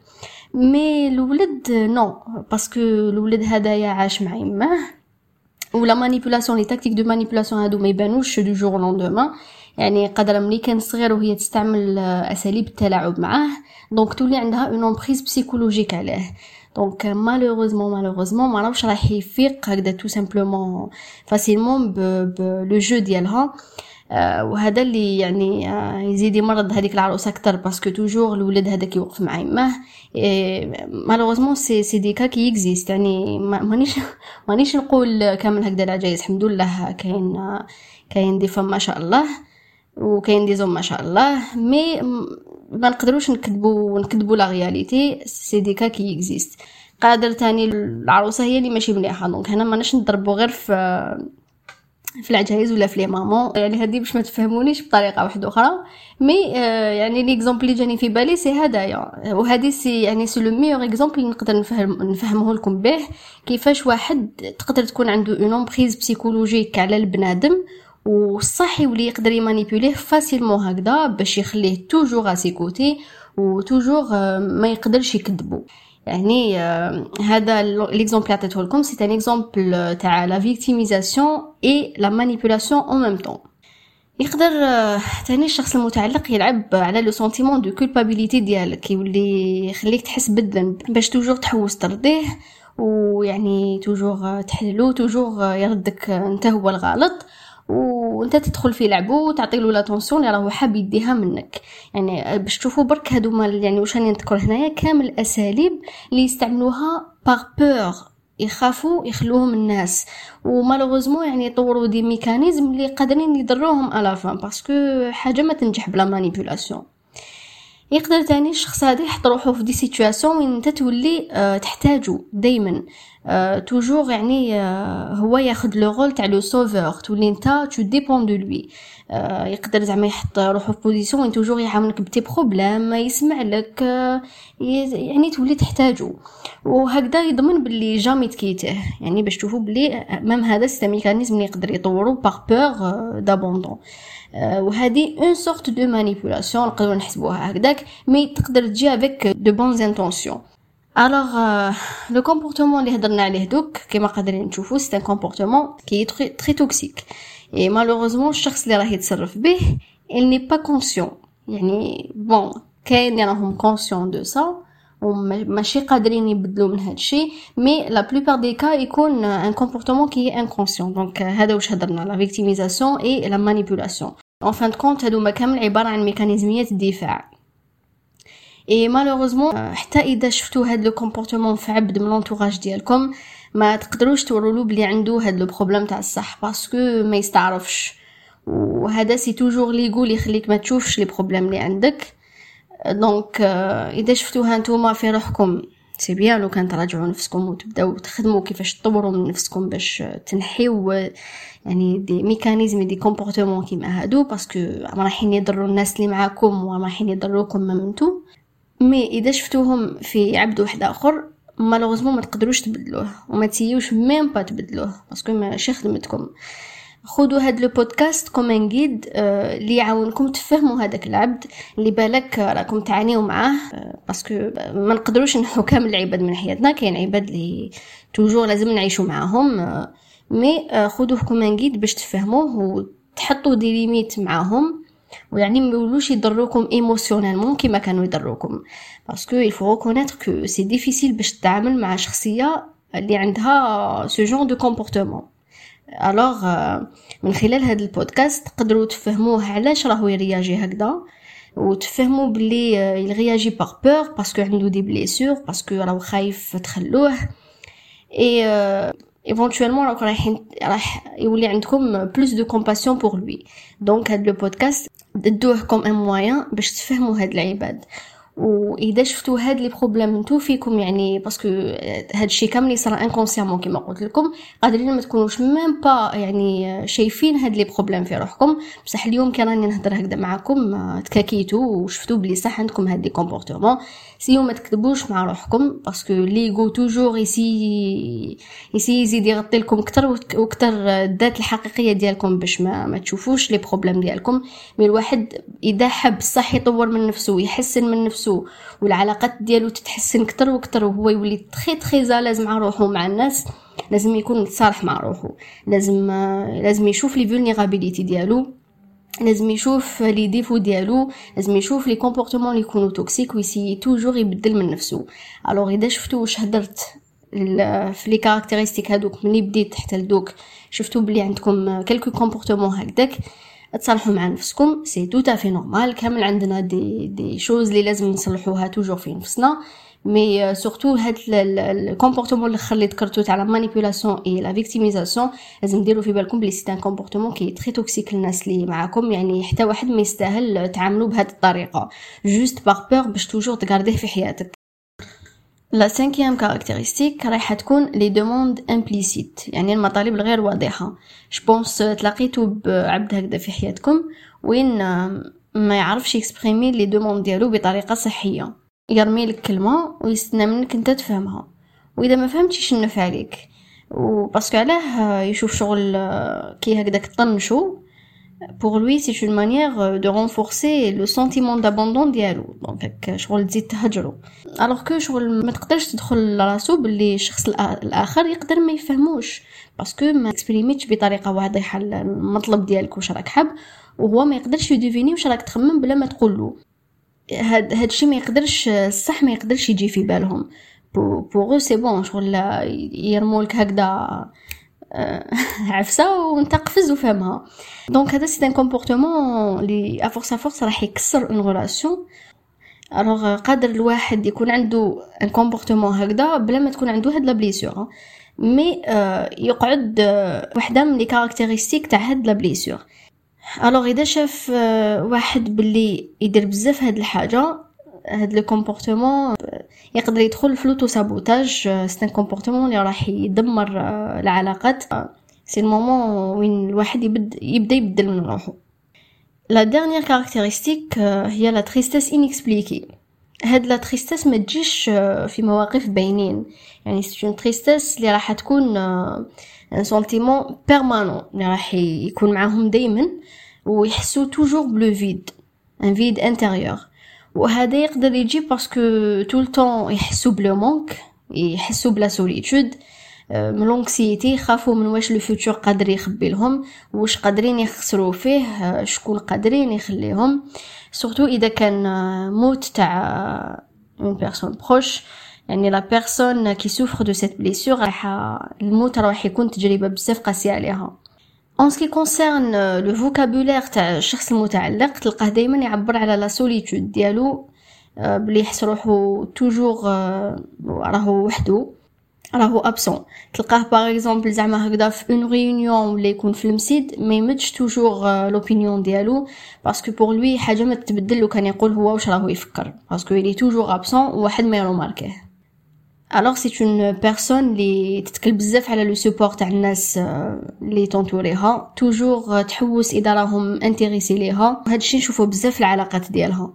مي الولد نو، باسكو الولد هدايا عاش مع يماه، ولا مانيبيولاسيون لي تاكتيك دو مانيبيولاسيون هادو ما يبانوش دو جور لوندومان، يعني قادره ملي كان صغير وهي تستعمل اساليب التلاعب معاه، دونك تولي عندها اون امبريز بسيكولوجيك عليه. دونك مالوغوزمون مالوغوزمون ما راهوش راح يفيق هكذا تو سامبلومون فاسيلمون بلو جو ديالها. آه وهذا اللي يعني آه يزيد يمرض هذيك العروسه اكثر، باسكو توجور الولد هذاك يوقف مع يماه. مالوغوزمون سي سي دي كا كي اكزيست، يعني مانيش مانيش نقول كامل هكذا العجايز، الحمد لله كاين آه كاين دي فم ما شاء الله وكاين دي زوم ما شاء الله، مي ما نقدروش نكذبوا نكذبوا لا رياليتي، سي دي كا كي اكزيست. قادر تاني العروسه هي اللي ماشي مليحه، دونك هنا ماناش نضربوا غير في في العجايز ولا في لي مامون، يعني هذه باش ما تفهمونيش بطريقه واحده اخرى. مي آه يعني ليكزامبل اللي جاني في بالي سي هدايا، وهذه سي يعني سي لو ميور اكزامبل اللي نقدر نفهم نفهمه لكم به كيفاش واحد تقدر تكون عنده اون امبريز بسيكولوجيك على البنادم، وصح يولي يقدر يمانيبيوليه فاسيلمون هكذا باش يخليه توجور اسيكوتي وتوجور ما يقدرش يكذبوا. يعني هذا ليكزامبل اللي عطيته لكم سي ان اكزامبل تاع لا فيكتيميزاسيون اي لا مانيبيولاسيون اون ميم طون. يقدر ثاني الشخص المتعلق يلعب على لو سنتيمون دو كولبابيليتي ديالك، يولي يخليك تحس بالذنب باش توجور تحوس ترضيه، ويعني توجور تحلو، توجور يردك انت هو الغلط، وانت تدخل في لعبه وتعطي له لاتونسيون اللي راهو حاب يديها منك. يعني باش تشوفوا برك هادو مال يعني واش راني نذكر هنايا كامل الاساليب اللي يستعملوها باغ بور يخافوا يخلوهم الناس، ومالوغوزمون يعني يطوروا دي ميكانيزم اللي قادرين يضروهم على فان، باسكو حاجه ما تنجح بلا مانيبيولاسيون. يقدر تاني الشخص هذا يحط روحه في دي سيتوياسيون وين انت تولي أه تحتاجه دائما أه توجور، يعني أه هو ياخذ لو رول تاع لو سوفور، تولي انت تو ديبون دو لوي. أه يقدر زعما يحط روحه في بوزيسيون وين توجور يعاونك بتي بروبليم، ما يسمع لك، أه يعني تولي تحتاجه، وهكذا يضمن باللي جامي تكيته. يعني باش تشوفوا بلي مام هذا سيستم ميكانيزم اللي يقدر يطوروا باغ بور دابوندون، وهذه اون سورت دو مانيبيولاسيون نقدروا نحسبوها هكذاك، مي تقدر تجي افيك دو بونز انتونسيون. الوغ لو كومبورتمون اللي هضرنا عليه دوك كيما قادرين تشوفوا سي ان كومبورتمون كي تري تري توكسيك، اي مالوغوزمون الشخص اللي راه يتصرف به il n'est pas conscient. يعني بون كاين راهم كونسيون دو سا وماشي قادرين يبدلوا من هذا الشيء، مي لا بلوبار دي كا يكون ان كومبورتمون كي انكونسيون. دونك هذا واش هضرنا، لا فيكتيميزاسيون اي لا مانيبيولاسيون. ان فان كونت هادو كامل عباره عن ميكانيزميات الدفاع. اي مالوغوزمون حتى اذا شفتوا هاد لو كومبورتمون في عبد من لونطوراج ديالكم ما تقدروش توروا له بلي عنده هاد لو بروبليم تاع الصح، باسكو ما يستعرفش، وهذا سي توجور لي يقول يخليك ما تشوفش لي بروبليم اللي عندك. دونك اذا شفتوها نتوما في روحكم سي بيان لو كان تراجعوا نفسكم وتبداو تخدموا كيفاش تطوروا من نفسكم باش تنحيو يعني دي ميكانيزم دي كومبورتمون كيما هادو، باسكو رايحين يضروا الناس اللي معاكم ورايحين يضروكم ممنتو. مي اذا شفتوهم في عبد واحد اخر مالوغوزمون ما تقدروش تبدلوه وما تسيوش ميم با تبدلوه، باسكو ماشي خدمتكم. خذوا هاد لو بودكاست كوم ان غيد اللي يعاونكم تفهموا هذاك العبد اللي بالك راكم تعانيوا معاه، باسكو ما نقدروش نحو كامل العباد من حياتنا، كاين عباد اللي توجور لازم نعيشوا معاهم، مي خذوه كوم ان غيد باش تفهموه وتحطوا دي ليميت معاهم، ويعني ما يولوش يضروكم ايموشنالمون كيما كانوا يضروكم، باسكو il faut reconnaître que c'est difficile باش تتعامل مع شخصيه اللي عندها ce genre de comportement. الوغ من خلال هذا البودكاست تقدروا تفهموه علاش راهو يرياجي هكذا، وتفهموا بلي يرياجي باغ بور باسكو عنده دي بليسور، باسكو راهو خايف تخلوه، اي ايفونتويلمون راكم رايحين راح يولي عندكم بلوس دو كومباسيون بور لوي. دونك هذا البودكاست ددوه كوم ان موين باش تفهموا هاد العباد. واذا شفتوا هاد لي بروبليم نتو فيكم، يعني باسكو هاد الشيء كامل يصرا انكونسيامون كيما قلت لكم، قادرين ما تكونوش ميم با يعني شايفين هاد لي بروبليم في روحكم، بصح اليوم كي راني نهضر هكذا معكم تكاكيتوا وشفتوا بلي صح عندكم هاد لي كومبورتمون. سيو ما تكذبوش مع روحكم، باسكو ليغو توجور يسي يسي يزيد يغطي لكم اكثر واكثر الذات الحقيقيه ديالكم باش ما ما تشوفوش لي بروبليم ديالكم. مي الواحد اذا حب صح يطور من نفسه ويحسن من نفسه والعلاقات ديالو تتحسن كتر وكتر وهو يولي تري تري زالز مع روحه ومع الناس، لازم يكون صالح مع روحه، لازم لازم يشوف لي فولنيرابيليتي ديالو، لازم يشوف لي ديفو ديالو، لازم يشوف لي كومبورتمون اللي يكونوا توكسيك ويسي توجور يبدل من نفسه. الوغ اذا شفتوا واش هضرت في لي كاركتيرستيك هذوك ملي بديت حتى لدوك، شفتوا بلي عندكم كلكو كومبورتمون هكذاك، تصالحوا مع نفسكم، سي تو تافي نورمال. كامل عندنا دي دي شوز اللي لازم نصلحوها توجور في نفسنا، مي سورتو هاد الكومبورتمون الاخر اللي ذكرتو تاع لا مانيبيولاسيون اي لا فيكتيميزاسيون، لازم ديروا في بالكم بلي سي ان كومبورتمون كي تري توكسيك للناس اللي معاكم. يعني حتى واحد ما يستاهل تعاملوا بهذه الطريقه جوست باغ بور باش توجور تغارديه في حياتك. لا سانكيام كاركتيرستيك رايحه تكون لي دوموند امبليسيت، يعني المطالب الغير واضحه. جو بونس تلاقيتو بعبد هكذا في حياتكم وين ما يعرفش يكسبريمي لي دوموند ديالو بطريقه صحيه، يرمي لك كلمه ويستنى منك انت تفهمها، واذا ما فهمتيش نفع عليك، وباسكو علاه يشوف شغل كي هكذاك طنشو. pour lui c'est une manière de renforcer le sentiment d'abandon ديالو، دونك شغل تزيد تهجرو. alors que شغل ما تقدرش تدخل لراسو باللي الشخص الاخر يقدر ما يفهموش، باسكو ما اكسبريميتش بطريقه واضحه المطلب ديالك واش راك حاب، وهو ما يقدرش يديفيني واش راك تخمم بلا ما تقول له. هاد هادشي ما يقدرش الصح ما يقدرش يجي في بالهم. بوغو سي بون شغل يرمولك هكذا عفسه وانت قفز وفهمها. دونك هذا سي ان كومبورتمون لي ا فورس ا فورس راح يكسر اون ريلاسيون. الوغ قادر الواحد يكون عنده ان كومبورتمون هكذا بلا ما تكون عنده هاد لا بليسور، مي يقعد وحده من لي كاركتيرستيك تاع هاد لا بليسور. الوغ اذا شاف واحد باللي يدير بزاف هاد الحاجه، هاد لو كومبورتمون يقدر يدخل في لوتو سابوتاج. سي ان كومبورتمون اللي راح يدمر العلاقات. سي المومون وين الواحد يبدا يبدا يبدل من روحه. لا ديرنيير كاركتيرستيك هي لا تريستيس انيكسبليكي. هاد لا تريستيس ما تجيش في مواقف باينين، يعني سي اون تريستيس اللي راح تكون ان سنتيمون بيرمانون اللي راح يكون معاهم دائما ويحسوا توجور بلو فيد، ان فيد انتيريور. وهذا يقدر يجي باسكو طول طون يحسوا بلو مونك، يحسوا بلا سوليتود، من لونكسيتي، خافوا من واش لو فيوتور قادر يخبي لهم، واش قادرين يخسروا فيه، شكون قادرين يخليهم. سورتو اذا كان موت تاع اون بيرسون بروش، يعني لا بيرسون كي سوفر دو سيت بليسور، راح الموت راح يكون تجربه بزاف قاسيه عليها. En ce qui concerne le vocabulaire تاع الشخص المتعلق، تلقاه دائما يعبر على لا سوليتود ديالو، بلي يحس روحو توجور راهو وحده، راهو ابسون. تلقاه باغ اكزومبل زعما هكذا في اون ريونيون ولا يكون في المسجد ما يمدش توجور لوبينيون ديالو، باسكو بور لوي حاجه ما تتبدل لو كان يقول هو واش راهو يفكر، باسكو يلي توجور ابسون وواحد ما يروماركيه. alors c'est une personne اللي تتكل بزاف على لو سوبور تاع الناس اللي تونتوريها، توجور تحوس اذا راهم انتريسي ليها. هذا الشيء نشوفه بزاف في العلاقات ديالها.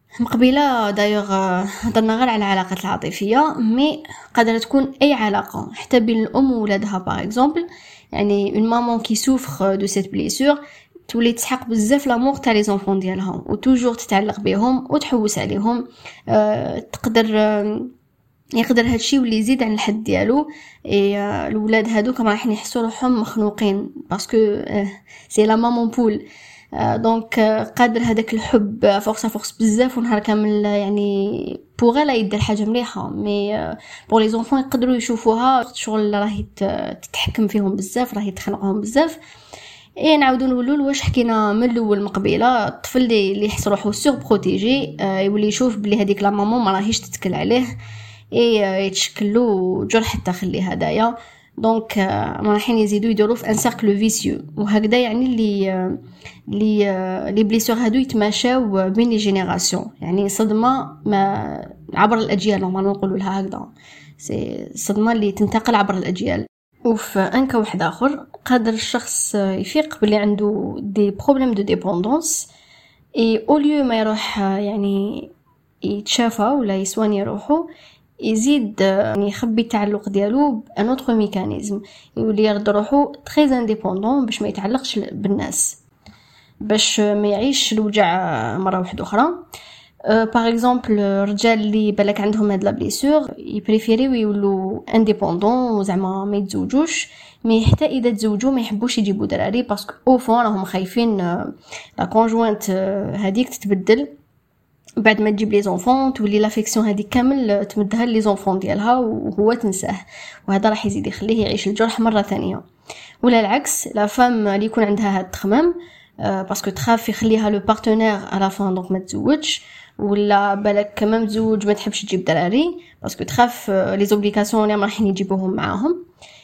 مقبله دايوغ هضرنا غير على العلاقات العاطفيه، مي قادره تكون اي علاقه حتى بين الام وولادها باغ اكزومبل. يعني اون مامون كي سوفر دو سيت بليسور تولي تسحق بزاف لامور تاع لي زونفون ديالها وتوجور تتعلق بهم وتحوس عليهم. أه تقدر أه يقدر هادشي واللي يزيد عن الحد ديالو. اي الولاد هادوك راح يحسوا روحهم مخنوقين باسكو سي لا مامون بول. دونك قادر هذاك الحب فورس فورس بزاف ونهار كامل يعني بوغ لا يدير حاجه مليحه، مي بور لي زونفون يقدروا يشوفوها شغل راهي تتحكم فيهم بزاف، راهي تخنقهم بزاف. اي نعاودوا نقولوا واش حكينا من الاول مقبله. الطفل اللي يحس روحو سور بروتيجي يولي يشوف بلي هذيك لا مامون ما راهيش تتكل عليه، اي يتشكلوا جرح الداخلي هدايا. دونك رايحين يزيدوا يدوروا في ان سيركل فيسيو، وهكذا يعني اللي اللي لي بليسور هادو يتماشاو بين لي جينيراسيون، يعني صدمه ما عبر الاجيال نورمالمون نقولوا لها هكذا، سي صدمه اللي تنتقل عبر الاجيال. وفي ان كا واحد اخر قادر الشخص يفيق بلي عنده دي بروبليم دو ديبوندونس، اي او ليو ما يروح يعني يتشافى ولا يسواني روحو، يزيد يعني يخبي التعلق ديالو بان اوتر ميكانيزم، يولي يرد روحو تري انديبوندون باش ما يتعلقش بالناس، باش ما يعيش الوجع مره واحده اخرى. باغ اكزومبل الرجال اللي بالك عندهم هاد لا بليسور يبريفيريو يولوا انديبوندون وزعما ما يتزوجوش، مي حتى اذا تزوجوا ما يحبوش يجيبوا دراري باسكو او فون راهم خايفين لا كونجوانت هذيك تتبدل بعد ما تجيب لي زونفون، تولي لافيكسيون هذيك كامل تمدها لي زونفون ديالها وهو تنساه، وهذا راح يزيد يخليه يعيش الجرح مره ثانيه. ولا العكس، لا فام اللي يكون عندها هاد التخمام باسكو تخاف يخليها لو بارتنير على فان دونك ما تزوجش، ولا بالك كمان متزوج ما تحبش تجيب دراري باسكو تخاف لي زوبليكاسيون اللي راح يجيبوهم معاهم،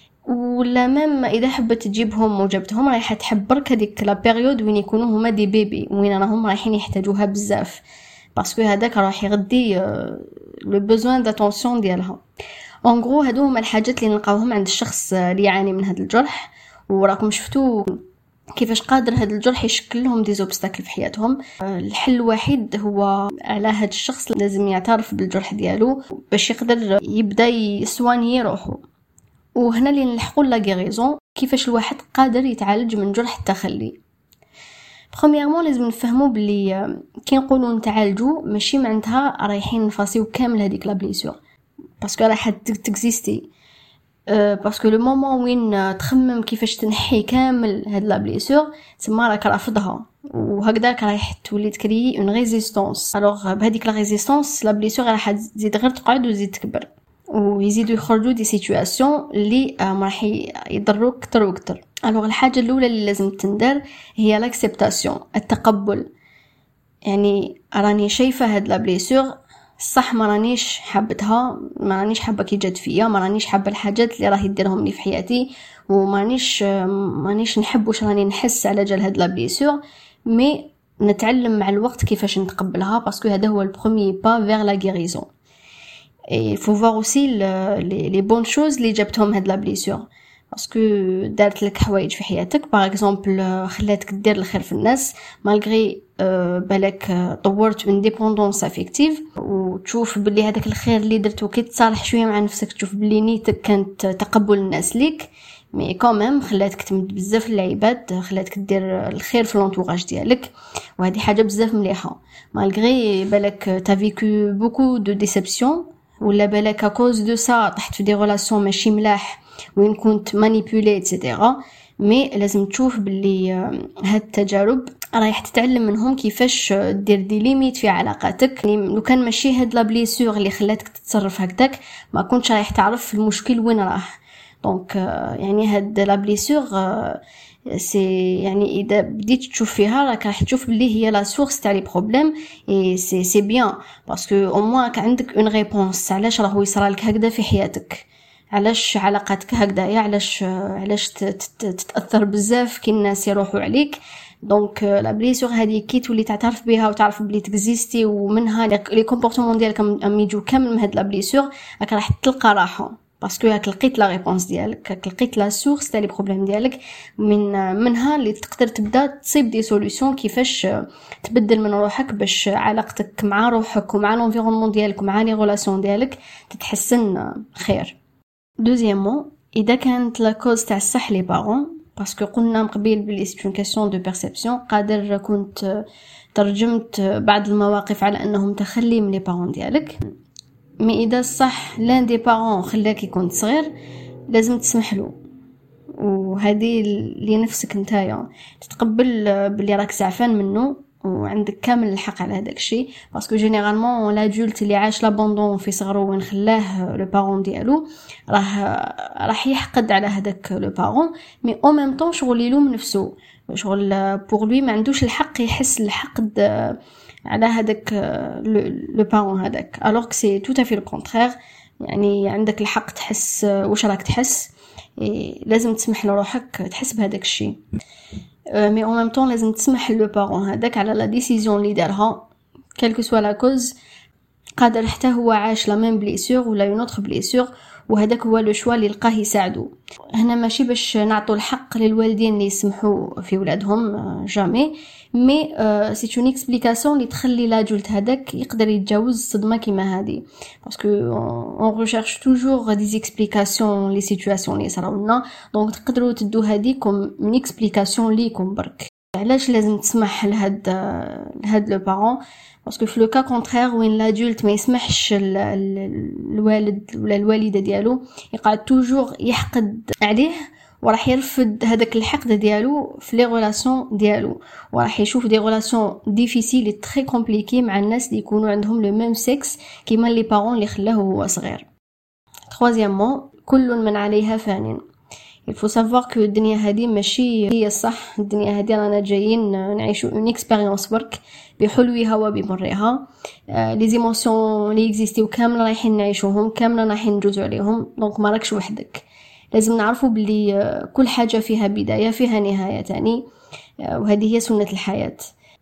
ولا ميم اذا حبت تجيبهم وجبتهم رايحه تحب برك هذيك لا بيريود وين يكونوا هما دي بيبي وين راهم رايحين يحتاجوها بزاف، باسكو هذاك راح يغدي لو بوزوان داتونسيون ديالها. اون غرو هادو هما الحاجات اللي نلقاوهم عند الشخص اللي يعاني من هذا الجرح، وراكم شفتوا كيفاش قادر هذا الجرح يشكل لهم دي زوبستاكل في حياتهم. الحل الوحيد هو على هذا الشخص لازم يعترف بالجرح ديالو باش يقدر يبدا يسواني روحه. وهنا اللي نلحقوا لا غيريزون، كيفاش الواحد قادر يتعالج من جرح التخلي. برومييرمون لازم نفهموا بلي كي نقولوا نتعالجوا ماشي معناتها رايحين نفاسيو كامل هذيك لا بليسور باسكو راح تكزيستي، باسكو لو مومون وين تخمم كيفاش تنحي كامل هاد لا بليسور تما راك رافضها، وهكذاك راح تولي تكري اون ريزيستانس. الوغ بهذيك لا ريزيستانس لا بليسور راح تزيد غير تقعد وتزيد تكبر، ويزيدوا يخرجوا دي سيتوياسيون اللي راح يضروك اكثر واكثر. الوغ الحاجه الاولى اللي لازم تندار هي لاكسبتاسيون، التقبل. يعني راني شايفه هاد لا بليسور صح ما رانيش حابتها، ما رانيش حابه كي جات فيا، ما رانيش حابه الحاجات اللي راهي ديرهم لي في حياتي، وما رانيش مانيش نحب واش راني نحس على جال هاد لا بليسور. مي نتعلم مع الوقت كيفاش نتقبلها، باسكو هذا هو البروميي با فيغ لا غيريزون. اي فو فوار اوسي لي لي بون شوز اللي جابتهم هاد لا بليسور، باسكو دارت لك حوايج في حياتك. باغ اكزومبل خلاتك دير الخير في الناس مالغري بالك طورت من ديبوندونس افيكتيف، وتشوف باللي هذاك الخير اللي درته كي تصالح شويه مع نفسك تشوف باللي نيتك كانت تقبل الناس ليك، مي كوميم خلاتك تمد بزاف العباد، خلاتك دير الخير في لونطوراج ديالك، وهذه حاجه بزاف مليحه. مالغري بالك تا فيكو بوكو دو ديسيبسيون، ولا بالك اكوز دو سا طحت في دي ريلاسيون ماشي ملاح وين كنت مانيبيولي ايتترا، مي لازم تشوف باللي هاد التجارب رايح تتعلم منهم كيفاش دير دي ليميت في علاقاتك. يعني لو كان ماشي هاد لا بليسور اللي خلاتك تتصرف هكذاك ما كنتش رايح تعرف المشكل وين راه. دونك يعني هاد لا بليسور سي يعني اذا بديت تشوف فيها راك راح تشوف باللي هي لا سورس تاع لي بروبليم، اي سي سي بيان باسكو او موان عندك اون ريبونس علاش راهو يصرالك هكذا في حياتك، علاش علاقاتك هكذايا، علاش علاش تتاثر بزاف كي الناس يروحوا عليك. دونك لا بليسور هذه كي تولي تعترف بها وتعرف بلي تكزيستي، ومنها لي كومبورتمون ديالك ام يجوا كامل من هاد لا بليسور، راك راح تلقى راحه باسكو راك لقيت لا ريبونس ديالك، راك لقيت لا سورس تاع لي بروبليم ديالك، من منها اللي تقدر تبدا تصيب دي سوليوشن كيفاش تبدل من روحك باش علاقتك مع روحك ومع لونفيرونمون ديالك ومع لي ريلاسيون ديالك تتحسن خير. دوزيامون اذا كانت لا كوز تاع الصح لي بارون، باسكو قلنا مقبل بلي سي اون كاستيون دو بيرسيبسيون، قادر كنت ترجمت بعض المواقف على انهم تخلي من لي بارون ديالك. مي اذا صح لان دي بارون خلاك يكون صغير لازم تسمح له، وهذه اللي نفسك نتايا تتقبل بلي راك زعفان منه وعندك كامل الحق على هذاك الشيء، باسكو جينيرالمون لادولت اللي عاش لابوندون في صغره وين خلاه لو بارون ديالو راه راح يحقد على هذاك لو بارون، مي او ميم طون شغل يلوم نفسه، شغل بور لوي ما عندوش الحق يحس الحقد على هذاك لو بارون هذاك، الوغ سي تو تافي لو كونترير. يعني عندك الحق تحس واش راك تحس، لازم تسمح لروحك تحس بهذاك الشيء، مي او ميم طون لازم تسمح لو بارون هذاك على لا ديسيزيون اللي دارها كالكو سوا لا كوز. قادر حتى هو عاش لا ميم بليسور ولا اون اوتر بليسور، وهذاك هو لو شوا اللي لقاه يساعدو. هنا ماشي باش نعطوا الحق للوالدين اللي يسمحوا في ولادهم جامي، مي سي اون اكسبليكاسيون اللي تخلي لاجولت هذاك يقدر يتجاوز صدمه كيما هذه، باسكو اون ريشيرش توجور دي اكسبليكاسيون لي سيتوياسيون اللي صراولنا، دونك تقدروا تدوا هذه كوم اون اكسبليكاسيون ليكم برك. علاش لازم تسمح لهاد لهاد لو بارون؟ باسكو في لو كا كونترير وين لادولت ما يسمحش الوالد ولا الوالده ديالو يقعد توجور يحقد عليه، وراح يرفض هذاك الحقد ديالو في لي ريلاسيون ديالو، وراح يشوف دي ريلاسيون ديفيسيل تري كومبليكي مع الناس اللي يكونوا عندهم لو ميم سيكس كيما لي بارون اللي خلاه هو صغير. troisièmement كل من عليها فان. il faut savoir que الدنيا هذه ماشي هي الصح، الدنيا هذه رانا جايين نعيشوا اون اكسبيريونس برك بحلوها وبمرها، لي زيموسيون اللي اكزيستيو كامل رايحين نعيشوهم، كامل رايحين نجوزوا عليهم، دونك ما راكش وحدك. لازم نعرفوا بلي كل حاجه فيها بدايه فيها نهايه تاني، وهذه هي سنه الحياه.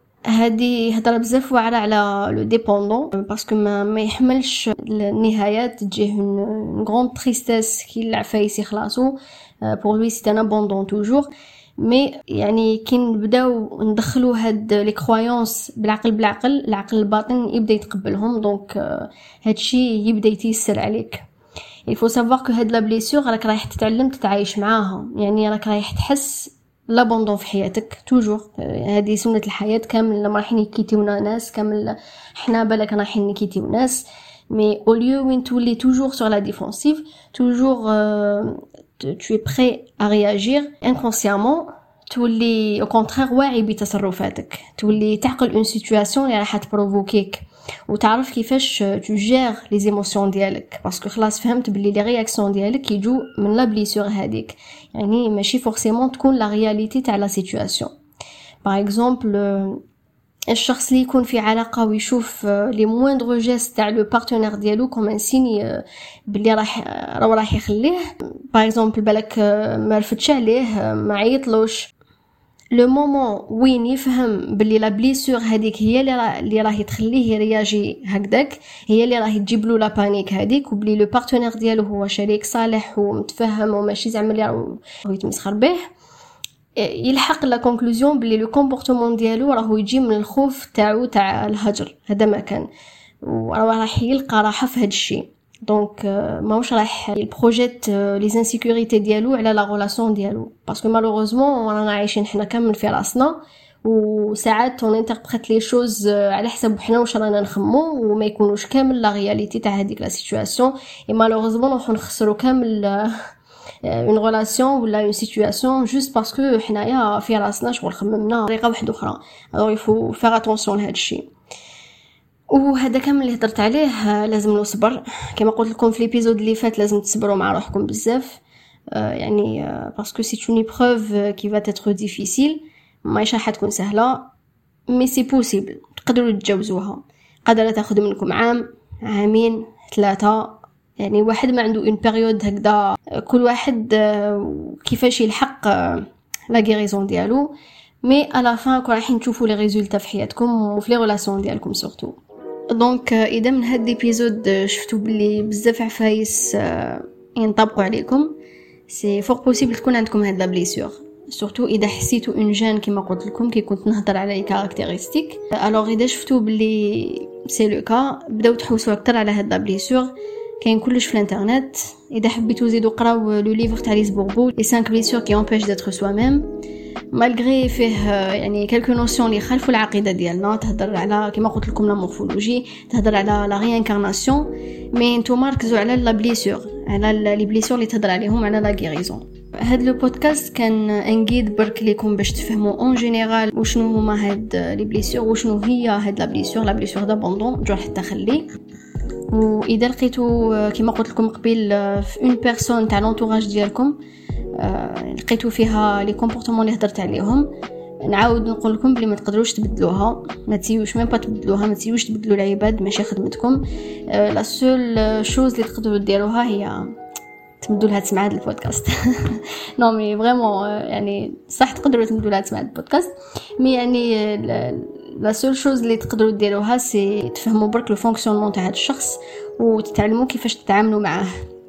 هذه هضره بزاف واعره على لو ديبوندون، باسكو ما, ما يحملش النهايات تجيه اون غروند تريستيس كي العفايس يخلصوا pour lui c'est un abandon toujours. مي يعني كي نبداو ندخلوا هاد لي كرويونس بالعقل بالعقل العقل الباطن يبدا يتقبلهم، دونك هادشي يبدا يتيسر عليك. il faut savoir que هاد لا بليسور راك رايح تتعلم تتعايش معاها، يعني راك رايح تحس لابوندون في حياتك توجور، هذه سنه الحياه كامل. لما رايحين يكيتيونا ناس كامل حنا بالك رايحين نكيتيو ناس، مي au lieu وين تولي toujours sur la défensive toujours euh, tu es prêt à réagir inconsciemment، تولي au contraire واعي بتصرفاتك، تولي تعقل اون سيتوياسيون اللي راح تبروفوكيك وتعرف كيفاش tu gères les émotions ديالك، باسكو خلاص فهمت بلي لي رياكسيون ديالك يجوا من لا بليسور هذيك، يعني ماشي فورسيمون تكون لا رياليتي تاع لا سيتوياسيون. باغ اكزومبل الشخص اللي يكون في علاقه ويشوف لي مويندغ جيست تاع لو بارتنير ديالو كوم سيني بلي راح راه راح يخليه. باغ اكزومبل بالك ما رفتش عليه، ما عيطلوش، لو مومون وين يفهم بلي لا بليسور هذيك هي اللي اللي راهي تخليه يرياجي هكذاك، هي اللي راهي تجيب له لا بانيك هذيك، وبلي لو بارتنير ديالو هو شريك صالح ومتفهم وماشي زعما اللي راهو يتمسخر به، يلحق لا كونكلوزيون بلي لو كومبورتمون ديالو راهو يجي من الخوف تاعو تاع الهجر. هذا ما كان، وراه راح يلقى راحه في هذا الشيء. دونك ماهوش راح البروجيت لي انسيكوريتي ديالو على لا ريلاسيون ديالو، باسكو مالوغوزمون رانا عايشين حنا كامل في راسنا، وساعات اون انتربريت لي شوز على حسب حنا واش رانا نخمو، وما يكونوش كامل لا رياليتي تاع هذيك لا سيتوياسيون. اي مالوغوزمون راح نخسروا كامل اون ريلاسيون ولا اون سيتوياسيون جوست باسكو حنايا في راسنا شغل خممنا طريقه واحده اخرى. الوغ يفو فير اتونسيون لهذا الشيء. وهذا كامل اللي هضرت عليه لازم له صبر. كما قلت لكم في ليبيزود اللي فات لازم تصبروا مع روحكم بزاف، يعني باسكو سي اون ايبروف كي فا تيتر ديفيسيل، ماشي راح تكون سهله، مي سي بوسيبل، تقدروا تتجاوزوها. قادره تاخذ منكم عام، عامين، ثلاثه، يعني واحد ما عنده اون بيريود هكذا، كل واحد كيفاش يلحق لا غيريزون ديالو. مي على فان كون رايحين تشوفوا لي ريزولتا في حياتكم وفي لي ريلاسيون ديالكم سورتو. دونك اذا من هاد ليبيزود شفتوا بلي بزاف عفايس ينطبقوا عليكم، سي فور بوسيبل تكون عندكم هاد لا بليسور، سورتو اذا حسيتوا اون جين كيما قلت لكم كي كنت نهضر على لي كاركتيرستيك. الوغ اذا شفتوا بلي سي لو كا، بداو تحوسوا اكثر على هاد لا بليسور. كاين كلش في الانترنت، اذا حبيتوا زيدوا قراو لو ليفر تاع ليس بوربو لي خمسة بليسور كي امبيش ديتر سوا ميم، مالغري فيه يعني كالكو نوسيون اللي خلفوا العقيده ديالنا. تهضر على كما قلت لكم لا مورفولوجي، تهضر على لا ريانكارناسيون، مي نتوما ركزوا على لا بليسور، على لي بليسور اللي تهضر عليهم، على لا غيريزون. هاد لو بودكاست كان انجيد برك ليكم باش تفهموا اون جينيرال وشنو هما هاد لي بليسور وشنو هي هاد لا بليسور، لا بليسور دابوندون جرح التخلي. واذا لقيتوا كما قلت لكم قبل في اون بيرسون تاع لونطوراج ديالكم لقيتوا فيها لي كومبورتمون اللي هضرت عليهم، نعاود نقول لكم بلي ما تقدروش تبدلوها، ما تسيوش ميم با تبدلوها، ما تسيوش تبدلوا العباد، ماشي خدمتكم. لا سول شوز اللي تقدروا ديروها هي تمدوا لها تسمع هذا البودكاست. نو مي فريمون يعني صح تقدروا تمدوا لها تسمع هذا البودكاست، مي يعني لا سول شوز اللي تقدروا ديروها سي تفهموا برك لو فونكسيونمون تاع هذا الشخص وتتعلموا كيفاش تتعاملوا معاه.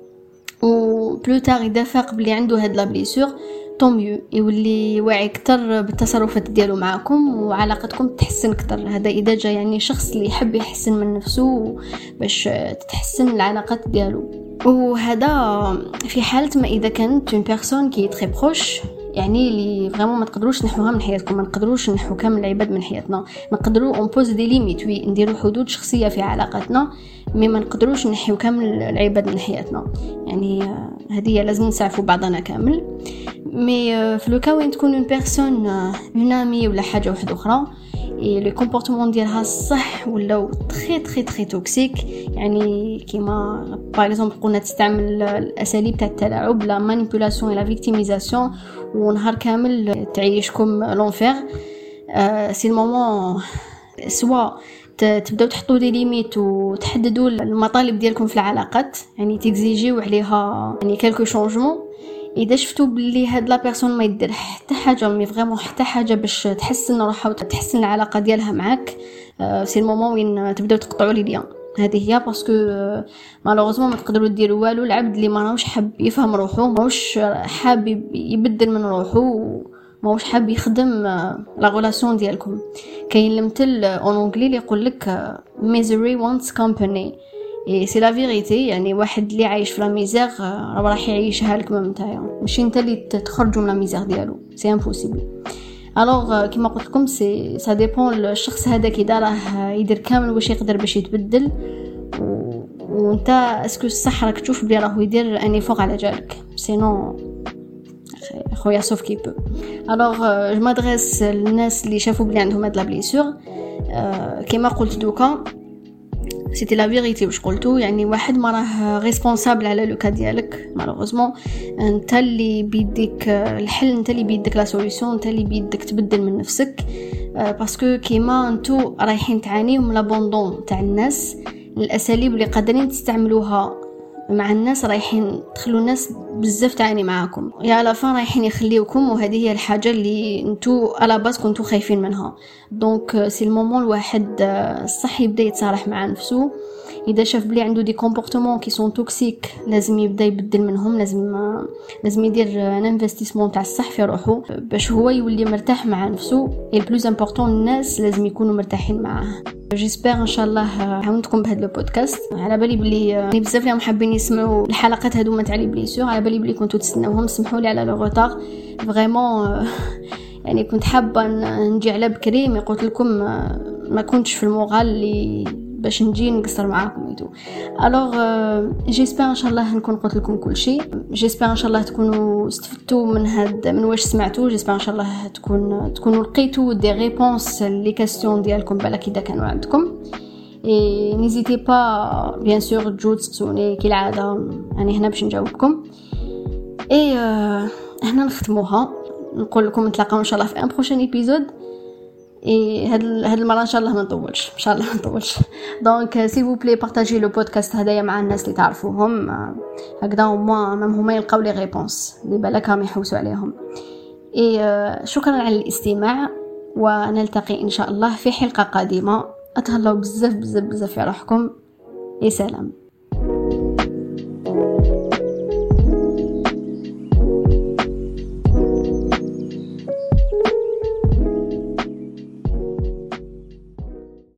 و بلوتار اذا فاق بلي عنده هاد لا بليسور طون ميو، يولي واعي اكثر بالتصرفات ديالو معكم وعلاقتكم تتحسن اكثر. هذا اذا جا يعني شخص اللي يحب يحسن من نفسه باش تتحسن العلاقات ديالو. وهذا في حاله ما اذا كانت اون بيرسون كي تري بروش، يعني اللي فريمون ما تقدروش نحوها من حياتكم، ما نقدروش نحو كامل العباد من حياتنا، نقدروا اون بوز دي ليميت، وي نديروا حدود شخصيه في علاقاتنا، مي ما نقدروش نحيو كامل العباد من حياتنا. يعني هذه لازم نسعفوا بعضنا كامل. مي في لو كا وين تكون اون بيرسون اون امي ولا حاجه واحده اخرى اي لو كومبورتمون ديالها صح ولا تري تري تري توكسيك، يعني كيما باغ اكزومبل قلنا تستعمل الاساليب تاع التلاعب، لا مانيبيولاسيون لا فيكتيميزاسيون، ونهار كامل تعيشكم لونفير، سي المومون سوا تبداو تحطوا دي ليميت وتحددوا المطالب ديالكم في العلاقات، يعني تيكزيجيو عليها يعني كالكو شونجمون. اذا شفتوا بلي هاد لا بيرسون ما يدير حتى حاجه، مي فريمون حتى حاجه باش تحسن روحها وتحسن العلاقه ديالها معاك، سي المومون وين تبداو تقطعوا لي ليان. هذه هي باسكو مالوغوزمون ما تقدروا ديروا والو. العبد اللي ما راهوش حاب يفهم روحه، ماهوش حاب يبدل من روحه، ماهوش حاب يخدم لا ريلاسيون ديالكم. كاين المثل اون انجلي اللي يقول لك misery wants company، اي سي لا فيريتي. يعني واحد اللي عايش في لا ميزير راه راح يعيشها لك ميم نتايا، ماشي انت اللي تخرجوا من لا ميزير ديالو، سي امبوسيبل. الوغ كيما قلت لكم سي سا ديبون الشخص هذا كي داراه يدير كامل واش يقدر باش يتبدل، وانت اسكو صح راك تشوف بلي راهو يدير اني فوق على جالك، سينو خويا سوف كي بو. الوغ جو مادريس للناس اللي شافوا بلي عندهم هاد لا بليسور، كيما قلت دوكا سيتي لا فيريتي واش قلتو، يعني واحد ما راه ريسبونسابل على لوكا ديالك مالوغوزمون. انت اللي بيديك الحل، انت اللي بيديك لا سوليوشن، انت اللي بيديك تبدل من نفسك. باسكو كيما انتو رايحين تعانيو من لابوندون تاع الناس، الاساليب اللي قادرين تستعملوها مع الناس رايحين تخلوا الناس بزاف تعاني معاكم، يا على فان رايحين يخليوكم، وهذه هي الحاجه اللي انتو على باس كنتو خايفين منها. دونك سي المومون الواحد الصح يبدا يتصالح مع نفسه. اذا شاف بلي عنده دي كومبورتمون كي سون توكسيك لازم يبدا يبدل منهم، لازم لازم يدير ان انفستيسمون تاع الصح في روحه باش هو يولي مرتاح مع نفسه. اي بلوز امبورطون الناس لازم يكونوا مرتاحين معاه. جيسبر ان شاء الله عاونتكم بهذا البودكاست. على بالي بلي بزاف اللي محبين يسمعوا الحلقات هذوما تاع لي بليسور، على بالي بلي كنتو تستناوهم. سمحوا لي على لو روتار فريمون، يعني كنت حابه نجي على بكري، مي قلت لكم ما كنتش في المورال اللي باش نجي نقصر معاكم ايتو. الوغ جيسبر ان شاء الله نكون قلت لكم كل شيء. جيسبر ان شاء الله تكونوا استفدتوا من هاد من واش سمعتوا. جيسبر ان شاء الله تكون تكونوا لقيتوا دي ريبونس لي كاستيون ديالكم بالك اذا كانوا عندكم. اي نيزيتي با بيان سور تجوا تسوني كالعاده، يعني هنا باش نجاوبكم. اي هنا نختموها، نقول لكم نتلاقاو ان شاء الله في ان بروشين ايبيزود. اي هاد هاد المره ان شاء الله ما نطولش، ان شاء الله ما نطولش. دونك سي فو بلي بارطاجي لو بودكاست هدايا مع الناس اللي تعرفوهم، هكذا هما مام هما يلقاو لي ريبونس اللي بالك راهم يحوسوا عليهم. اي شكرا على الاستماع، ونلتقي ان شاء الله في حلقه قادمه. اتهلاو بزاف بزاف بزاف في روحكم. اي سلام.